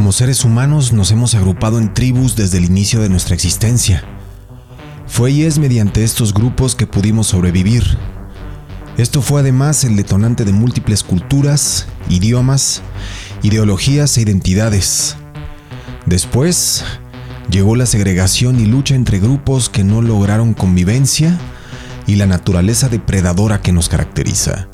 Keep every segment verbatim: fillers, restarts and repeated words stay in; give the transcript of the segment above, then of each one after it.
Como seres humanos nos hemos agrupado en tribus desde el inicio de nuestra existencia. Fue y es mediante estos grupos que pudimos sobrevivir. Esto fue además el detonante de múltiples culturas, idiomas, ideologías e identidades. Después, llegó la segregación y lucha entre grupos que no lograron convivencia y la naturaleza depredadora que nos caracteriza.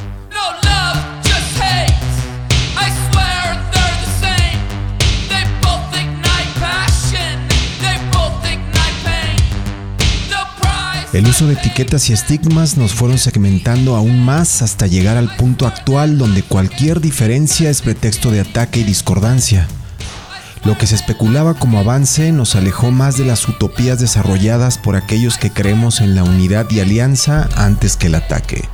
El uso de etiquetas y estigmas nos fueron segmentando aún más hasta llegar al punto actual donde cualquier diferencia es pretexto de ataque y discordancia. Lo que se especulaba como avance nos alejó más de las utopías desarrolladas por aquellos que creemos en la unidad y alianza antes que el ataque.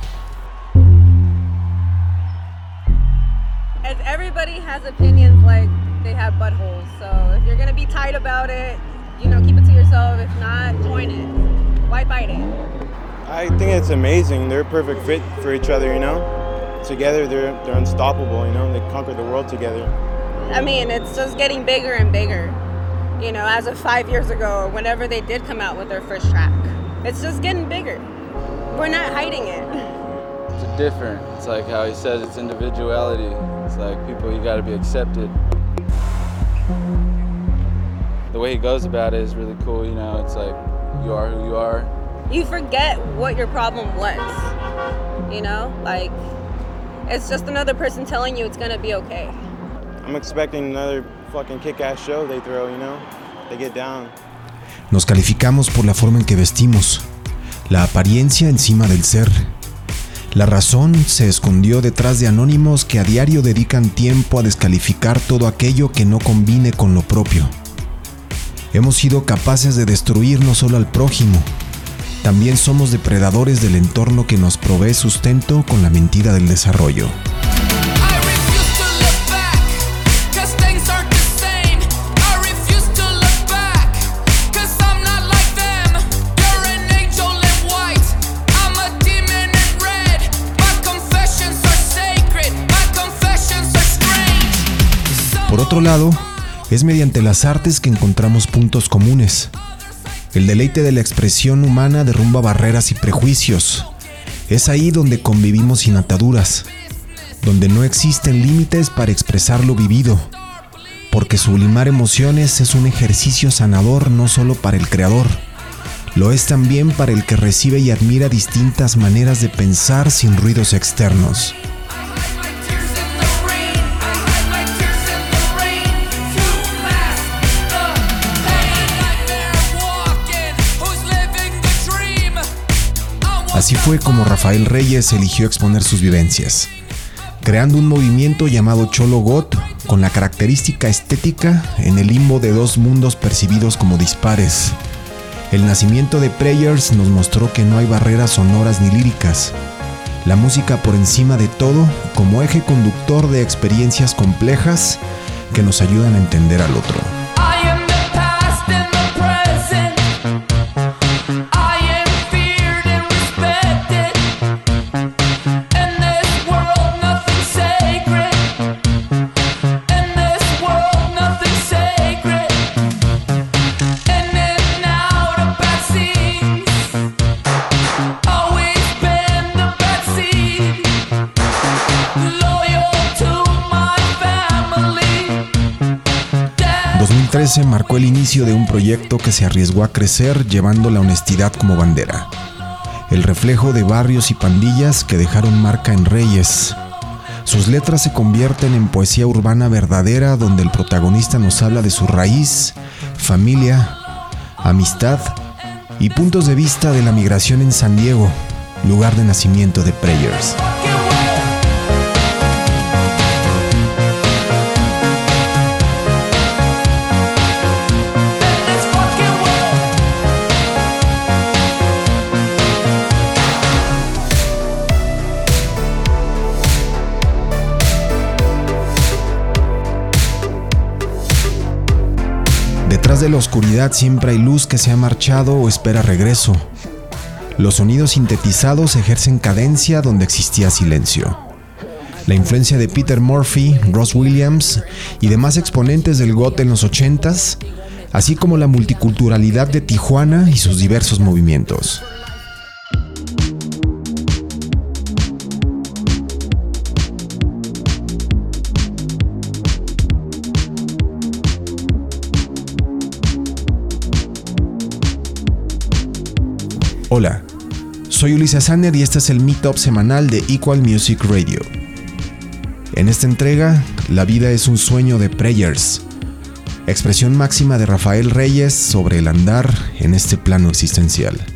As everybody has opinions like they have buttholes, so if you're gonna be tight about it, you know, keep it to yourself. If not, join it. Why fight it? I think it's amazing. They're a perfect fit for each other, you know? Together, they're they're unstoppable, you know? They conquer the world together. I mean, it's just getting bigger and bigger. You know, as of five years ago, whenever they did come out with their first track. It's just getting bigger. We're not hiding it. It's different. It's like how he says it's individuality. It's like people, you gotta be accepted. The way he goes about it is really cool, you know? It's like, you are who you are. You forget what your problem was, you know? Like, it's just another person telling you it's gonna be okay. I'm expecting another fucking kick-ass show they throw, you know? They get down. Nos calificamos por la forma en que vestimos, la apariencia encima del ser. La razón se escondió detrás de anónimos que a diario dedican tiempo a descalificar todo aquello que no combine con lo propio. Hemos sido capaces de destruir no solo al prójimo, también somos depredadores del entorno que nos provee sustento con la mentira del desarrollo. Por otro lado, es mediante las artes que encontramos puntos comunes. El deleite de la expresión humana derrumba barreras y prejuicios. Es ahí donde convivimos sin ataduras, donde no existen límites para expresar lo vivido, porque sublimar emociones es un ejercicio sanador no solo para el creador, lo es también para el que recibe y admira distintas maneras de pensar sin ruidos externos. Así fue como Rafael Reyes eligió exponer sus vivencias, creando un movimiento llamado Cholo Got, con la característica estética en el limbo de dos mundos percibidos como dispares. El nacimiento de Prayers nos mostró que no hay barreras sonoras ni líricas. La música por encima de todo, como eje conductor de experiencias complejas que nos ayudan a entender al otro. dos mil trece marcó el inicio de un proyecto que se arriesgó a crecer llevando la honestidad como bandera. El reflejo de barrios y pandillas que dejaron marca en Reyes. Sus letras se convierten en poesía urbana verdadera donde el protagonista nos habla de su raíz, familia, amistad y puntos de vista de la migración en San Diego, lugar de nacimiento de Prayers. Detrás de la oscuridad siempre hay luz que se ha marchado o espera regreso. Los sonidos sintetizados ejercen cadencia donde existía silencio. la influencia de Peter Murphy, Ross Williams y demás exponentes del goth en los ochentas, así como la multiculturalidad de Tijuana y sus diversos movimientos. Hola, soy Ulises Sanner y este es el Meetup semanal de Equal Music Radio. En esta entrega, La vida es un sueño de Prayers, expresión máxima de Rafael Reyes sobre el andar en este plano existencial.